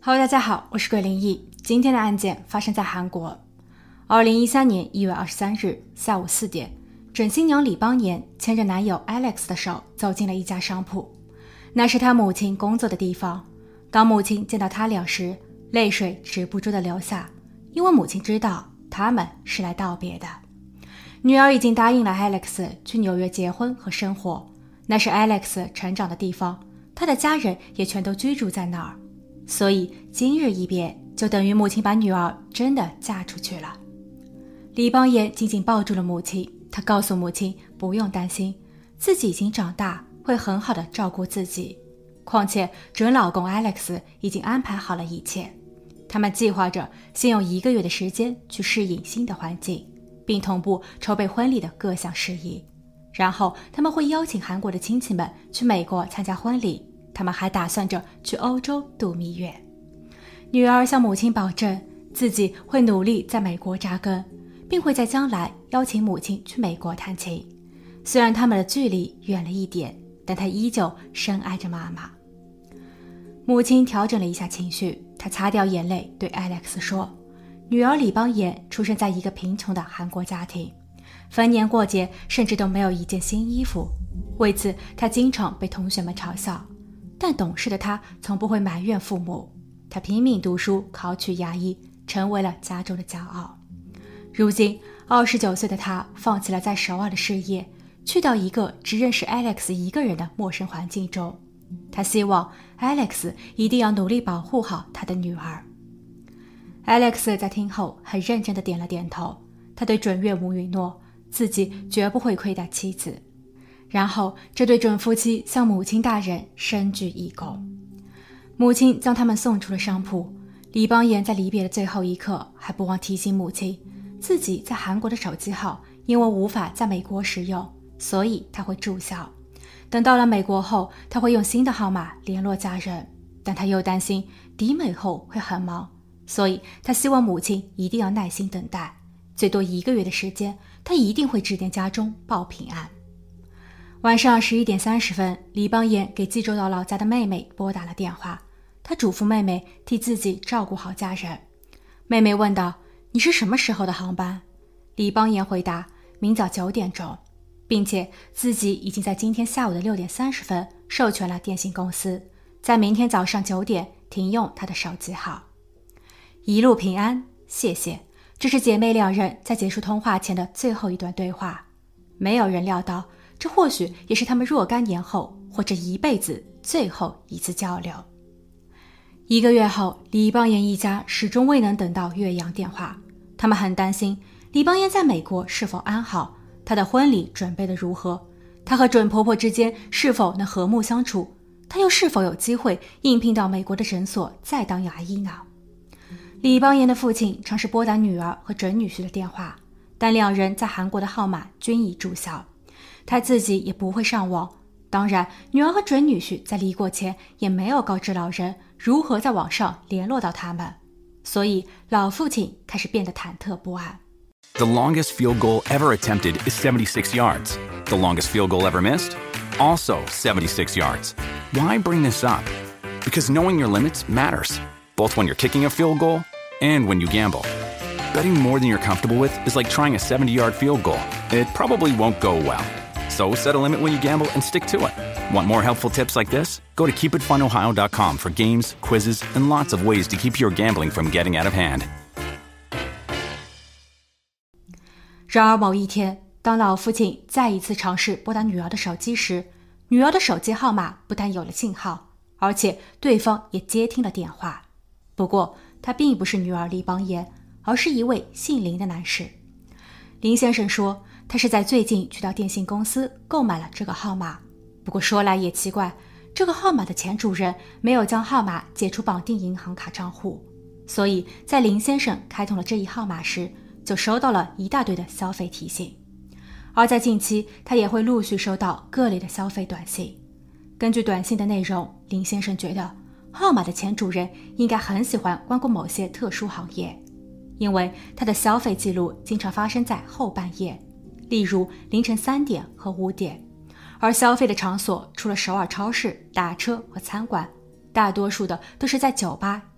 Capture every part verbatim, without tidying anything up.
Hello， 大家好，我是鬼灵异。今天的案件发生在韩国。二零一三年一月二十三日下午四点，准新娘李邦妍牵着男友 Alex 的手走进了一家商铺，那是她母亲工作的地方。当母亲见到他俩时，泪水止不住地流下，因为母亲知道他们是来道别的。女儿已经答应了 Alex 去纽约结婚和生活，那是 Alex 成长的地方，他的家人也全都居住在那儿。所以今日一别，就等于母亲把女儿真的嫁出去了。李邦妍紧紧抱住了母亲，她告诉母亲不用担心，自己已经长大，会很好的照顾自己。况且准老公 Alex 已经安排好了一切，他们计划着先用一个月的时间去适应新的环境，并同步筹备婚礼的各项事宜。然后他们会邀请韩国的亲戚们去美国参加婚礼，他们还打算着去欧洲度蜜月。女儿向母亲保证，自己会努力在美国扎根，并会在将来邀请母亲去美国探亲。虽然他们的距离远了一点，但她依旧深爱着妈妈。母亲调整了一下情绪，她擦掉眼泪对 Alex 说，女儿李邦妍出生在一个贫穷的韩国家庭，逢年过节甚至都没有一件新衣服，为此她经常被同学们嘲笑。但懂事的她从不会埋怨父母，她拼命读书，考取牙医，成为了家中的骄傲。如今二十九岁的她放弃了在首尔的事业，去到一个只认识 Alex 一个人的陌生环境中。她希望 Alex 一定要努力保护好她的女儿。 Alex 在听后很认真地点了点头，他对准岳母允诺，自己绝不会亏待妻子。然后这对准夫妻向母亲大人深鞠一躬。母亲将他们送出了商铺，李邦妍在离别的最后一刻还不忘提醒母亲，自己在韩国的手机号因为无法在美国使用，所以他会注销。等到了美国后，他会用新的号码联络家人，但他又担心抵美后会很忙，所以他希望母亲一定要耐心等待，最多一个月的时间，他一定会致电家中报平安。晚上十一点三十分，李邦妍给济州岛老家的妹妹拨打了电话，她嘱咐妹妹替自己照顾好家人。妹妹问道，你是什么时候的航班？李邦妍回答，明早九点钟，并且自己已经在今天下午的六点三十分授权了电信公司，在明天早上九点停用她的手机号。一路平安，谢谢。这是姐妹两人在结束通话前的最后一段对话。没有人料到，这或许也是他们若干年后或者一辈子最后一次交流。一个月后，李邦妍一家始终未能等到岳阳电话，他们很担心李邦妍在美国是否安好，她的婚礼准备得如何，她和准婆婆之间是否能和睦相处，她又是否有机会应聘到美国的诊所再当牙医呢？李邦妍的父亲尝试拨打女儿和准女婿的电话，但两人在韩国的号码均已注销，他自己也不会上网。当然，女儿和准女婿在离国前也没有告知老人如何在网上联络到他们，所以老父亲开始变得忐忑不安。 The longest field goal ever attempted is seventy-six yards. The longest field goal ever missed? Also seventy-six yards. Why bring this up? Because knowing your limits matters, both when you're kicking a field goal and when you gamble. Betting more than you're comfortable with is like trying a seventy-yard field goal. It probably won't go well. So set a limit when you gamble and stick to it. Want more helpful tips like this? Go to keep it fun ohio dot com for games, quizzes, and lots of ways to keep your gambling from getting out of hand. 然而某一天，当老父亲再一次尝试拨打女儿的手机时，女儿的手机号码不但有了信号，而且对方也接听了电话。不过他并不是女儿李邦妍，而是一位姓林的男士。林先生说，他是在最近去到电信公司购买了这个号码，不过说来也奇怪，这个号码的前主人没有将号码解除绑定银行卡账户，所以在林先生开通了这一号码时，就收到了一大堆的消费提醒。而在近期，他也会陆续收到各类的消费短信。根据短信的内容，林先生觉得号码的前主人应该很喜欢光顾某些特殊行业，因为他的消费记录经常发生在后半夜，例如凌晨三点和五点，而消费的场所除了首尔超市、打车和餐馆，大多数的都是在酒吧、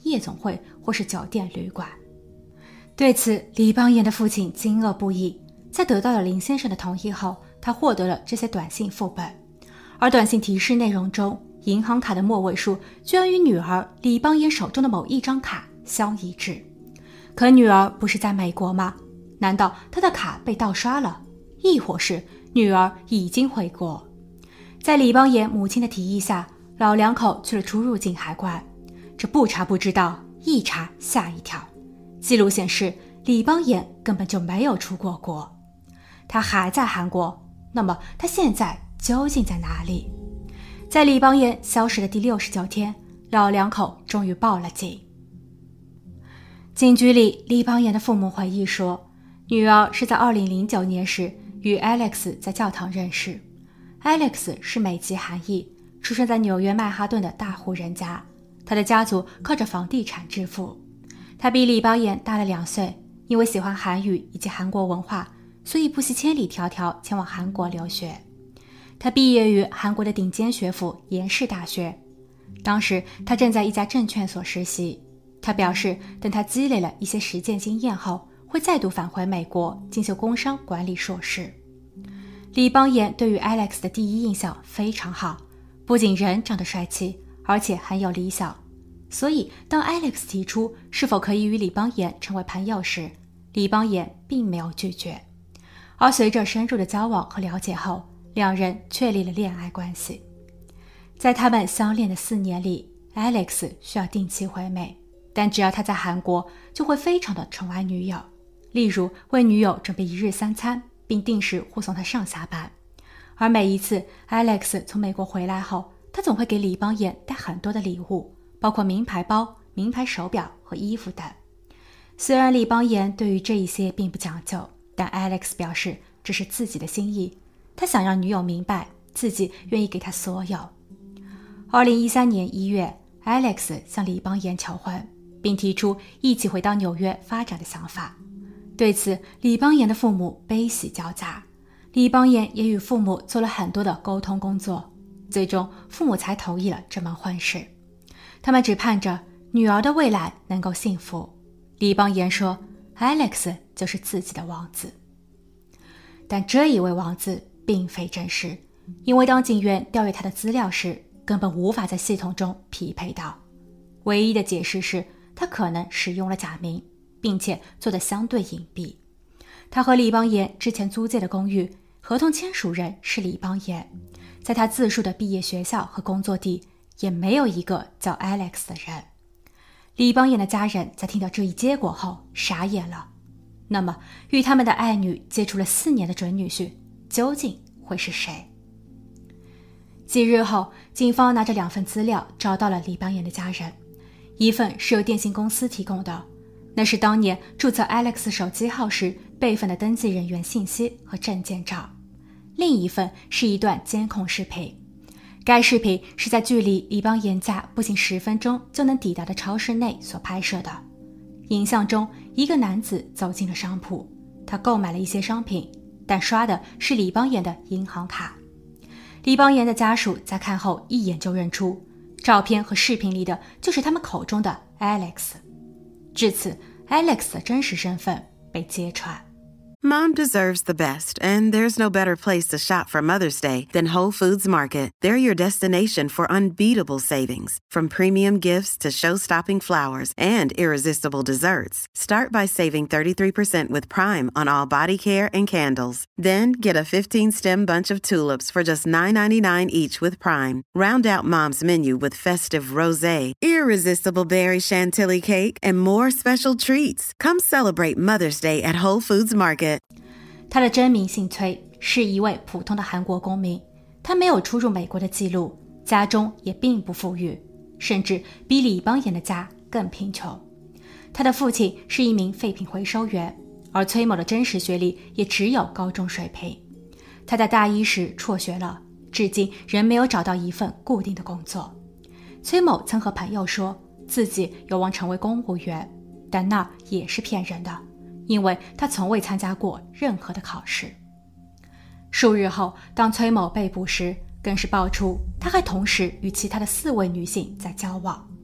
夜总会或是酒店旅馆。对此，李邦彦的父亲惊愕不已。在得到了林先生的同意后，他获得了这些短信副本，而短信提示内容中，银行卡的末位数居然与女儿李邦彦手中的某一张卡相一致。可女儿不是在美国吗？难道她的卡被盗刷了？亦或是女儿已经回国？在李邦彦母亲的提议下，老两口去了出入境海关。这不查不知道，一查吓一跳。记录显示，李邦彦根本就没有出过国，他还在韩国。那么他现在究竟在哪里？在李邦彦消失的第六十九天，老两口终于报了警。警局里，李邦彦的父母回忆说，女儿是在二零零九年时与 Alex 在教堂认识。Alex 是美籍韩裔，出生在纽约曼哈顿的大户人家，他的家族靠着房地产致富。他比李邦彦大了两岁，因为喜欢韩语以及韩国文化，所以不惜千里迢迢前往韩国留学。他毕业于韩国的顶尖学府延世大学，当时他正在一家证券所实习。他表示，等他积累了一些实践经验后，会再度返回美国进修工商管理硕士。李邦彦对于 Alex 的第一印象非常好，不仅人长得帅气，而且很有理想。所以当 Alex 提出是否可以与李邦彦成为朋友时，李邦彦并没有拒绝。而随着深入的交往和了解后，两人确立了恋爱关系。在他们相恋的四年里， Alex 需要定期回美，但只要他在韩国就会非常的宠爱女友，例如为女友准备一日三餐，并定时护送她上下班。而每一次 Alex 从美国回来后，他总会给李邦彦带很多的礼物，包括名牌包、名牌手表和衣服等。虽然李邦彦对于这一些并不讲究，但 Alex 表示这是自己的心意，他想让女友明白自己愿意给他所有。二零一三年一月， Alex 向李邦彦求婚，并提出一起回到纽约发展的想法。对此，李邦彦的父母悲喜交加，李邦彦也与父母做了很多的沟通工作，最终父母才同意了这门婚事。他们只盼着女儿的未来能够幸福。李邦彦说 Alex 就是自己的王子。但这一位王子并非真实，因为当警员调阅他的资料时，根本无法在系统中匹配到。唯一的解释是他可能使用了假名，并且做得相对隐蔽。他和李邦彦之前租借的公寓，合同签署人是李邦彦，在他自述的毕业学校和工作地也没有一个叫 Alex 的人。李邦彦的家人在听到这一结果后傻眼了。那么与他们的爱女接触了四年的准女婿究竟会是谁？几日后，警方拿着两份资料找到了李邦彦的家人。一份是由电信公司提供的，那是当年注册 Alex 手机号时备份的登记人员信息和证件照。另一份是一段监控视频，该视频是在距离李邦彦家步行十分钟就能抵达的超市内所拍摄的。影像中，一个男子走进了商铺，他购买了一些商品，但刷的是李邦彦的银行卡。李邦彦的家属在看后一眼就认出，照片和视频里的就是他们口中的 Alex。 至此， Alex 的真实身份被揭穿。 Mom deserves the best, and there's no better place to shop for Mother's Day than Whole Foods Market. They're your destination for unbeatable savings, from premium gifts to show-stopping flowers and irresistible desserts. Start by saving thirty-three percent with Prime on all body care and candles. Then get a fifteen-stem bunch of tulips for just nine ninety-nine each with Prime. Round out Mom's menu with festive rosé, irresistible berry chantilly cake, and more special treats. Come celebrate Mother's Day at Whole Foods Market. 他的真名姓崔，是一位普通的韩国公民，他没有出入美国的记录，家中也并不富裕，甚至比李邦彦的家更贫穷。他的父亲是一名废品回收员，而崔某的真实学历也只有高中水平。他在大一时辍学了，至今仍没有找到一份固定的工作。崔某曾和朋友说自己有望成为公务员，但那也是骗人的，因为他从未参加过任何的考试。数日后，当崔某被捕时，更是爆出他还同时与其他的四位女性在交往。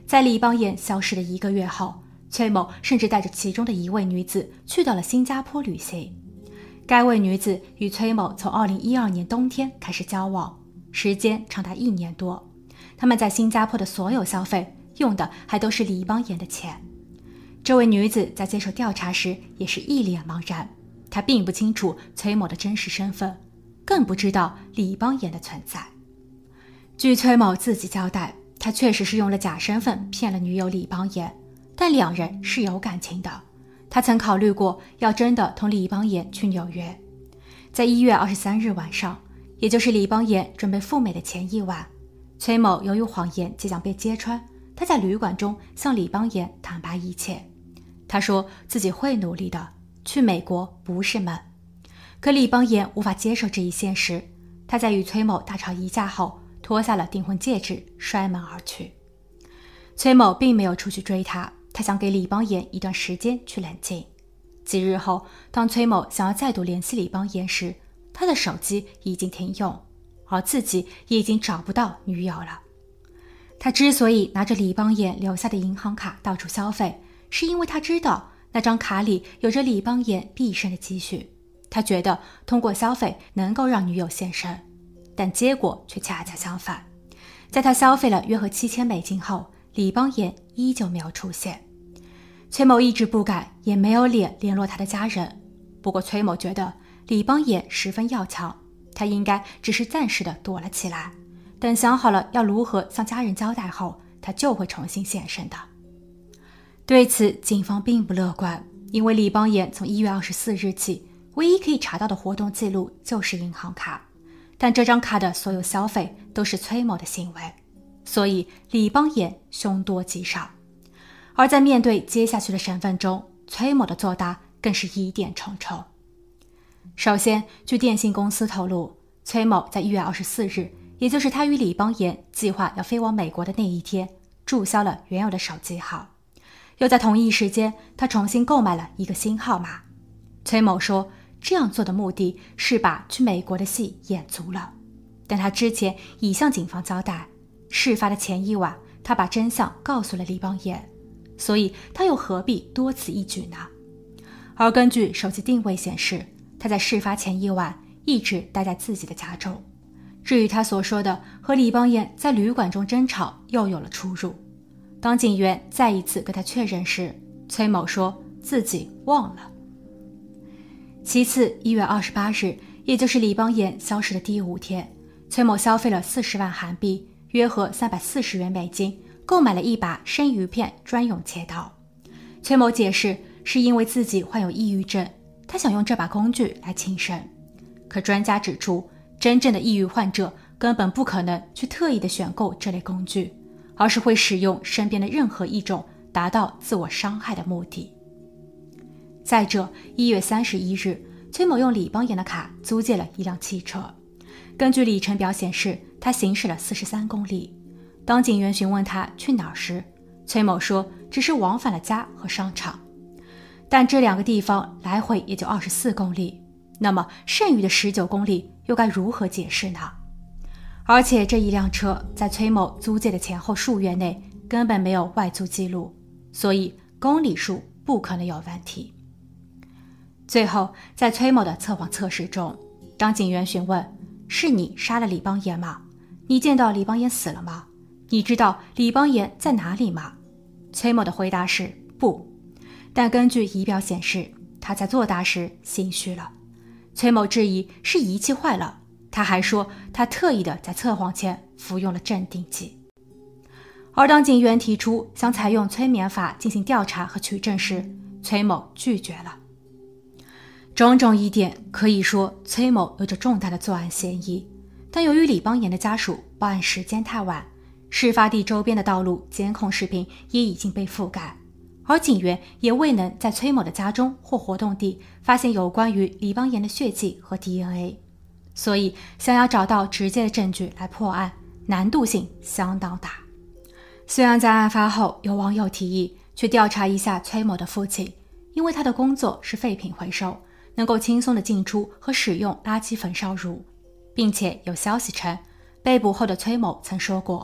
在李邦彦消失的一个月后，崔某甚至带着其中的一位女子去到了新加坡旅行。该位女子与崔某从二零一二年冬天开始交往，时间长达一年多。他们在新加坡的所有消费用的还都是李邦彦的钱。这位女子在接受调查时也是一脸茫然，她并不清楚崔某的真实身份，更不知道李邦彦的存在。据崔某自己交代，他确实是用了假身份骗了女友李邦彦，但两人是有感情的。他曾考虑过要真的同李邦彦去纽约。在一月二十三日晚上，也就是李邦彦准备赴美的前一晚，崔某由于谎言即将被揭穿，他在旅馆中向李邦彦坦白一切。他说自己会努力的，去美国不是梦。可李邦彦无法接受这一现实，他在与崔某大吵一架后，脱下了订婚戒指，摔门而去。崔某并没有出去追他，他想给李邦彦一段时间去冷静。几日后，当崔某想要再度联系李邦彦时，他的手机已经停用，而自己也已经找不到女友了。他之所以拿着李邦彦留下的银行卡到处消费，是因为他知道那张卡里有着李邦彦毕生的积蓄。他觉得通过消费能够让女友现身，但结果却恰恰相反。在他消费了约合七千美金后，李邦彦依旧没有出现。崔某一直不敢也没有脸联络他的家人，不过崔某觉得李邦彦十分要强，他应该只是暂时的躲了起来，等想好了要如何向家人交代后，他就会重新现身的。对此警方并不乐观，因为李邦彦从一月二十四日起唯一可以查到的活动记录就是银行卡，但这张卡的所有消费都是崔某的行为，所以李邦彦凶多吉少。而在面对接下去的审问中，崔某的作答更是疑点重重。首先，据电信公司透露，崔某在一月二十四日，也就是他与李邦彦计划要飞往美国的那一天，注销了原有的手机号，又在同一时间，他重新购买了一个新号码。崔某说，这样做的目的是把去美国的戏演足了，但他之前已向警方交代，事发的前一晚，他把真相告诉了李邦彦，所以他又何必多此一举呢？而根据手机定位显示，他在事发前一晚一直待在自己的家中。至于他所说的和李邦彦在旅馆中争吵，又有了出入。当警员再一次跟他确认时，崔某说自己忘了。其次，一月二十八日，也就是李邦彦消失的第五天，崔某消费了四十万韩币，约合三百四十元美金，购买了一把生鱼片专用切刀。崔某解释是因为自己患有抑郁症，他想用这把工具来轻生。可专家指出，真正的抑郁患者根本不可能去特意的选购这类工具，而是会使用身边的任何一种达到自我伤害的目的。再者，一月三十一日，崔某用李邦彦的卡租借了一辆汽车，根据里程表显示，他行驶了四十三公里。当警员询问他去哪儿时，崔某说只是往返了家和商场，但这两个地方来回也就二十四公里，那么剩余的十九公里又该如何解释呢？而且这一辆车在崔某租借的前后数月内根本没有外租记录，所以公里数不可能有问题。最后，在崔某的测谎测试中，当警员询问是你杀了李邦彦吗？你见到李邦彦死了吗？你知道李邦彦在哪里吗？崔某的回答是不，但根据仪表显示，他在作答时心虚了。崔某质疑是仪器坏了，他还说他特意的在测谎前服用了镇定剂。而当警员提出想采用催眠法进行调查和取证时，崔某拒绝了。种种疑点可以说崔某有着重大的作案嫌疑，但由于李邦彦的家属报案时间太晚，事发地周边的道路监控视频也已经被覆盖，而警员也未能在崔某的家中或活动地发现有关于李邦彦的血迹和 D N A， 所以想要找到直接的证据来破案，难度性相当大。虽然在案发后有网友提议去调查一下崔某的父亲，因为他的工作是废品回收，能够轻松地进出和使用垃圾焚烧炉，并且有消息称被捕后的崔某曾说过，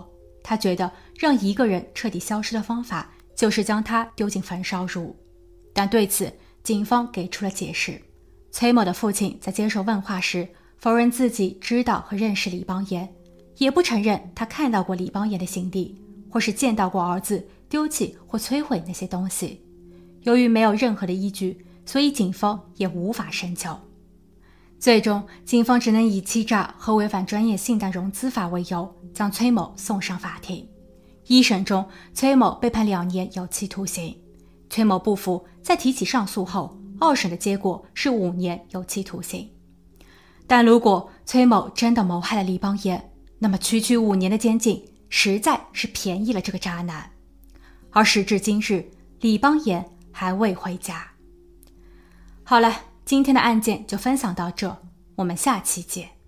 他觉得让一个人彻底消失的方法就是将他丢进焚烧炉。但对此警方给出了解释。崔某的父亲在接受问话时否认自己知道和认识李邦彦，也不承认他看到过李邦彦的行李，或是见到过儿子丢弃或摧毁那些东西。由于没有任何的依据，所以警方也无法深究。最终警方只能以欺诈和违反专业信贷融资法为由将崔某送上法庭。一审中崔某被判两年有期徒刑，崔某不服，在提起上诉后，二审的结果是五年有期徒刑。但如果崔某真的谋害了李邦彦，那么区区五年的监禁实在是便宜了这个渣男。而时至今日，李邦彦还未回家。好了，今天的案件就分享到这，我们下期见。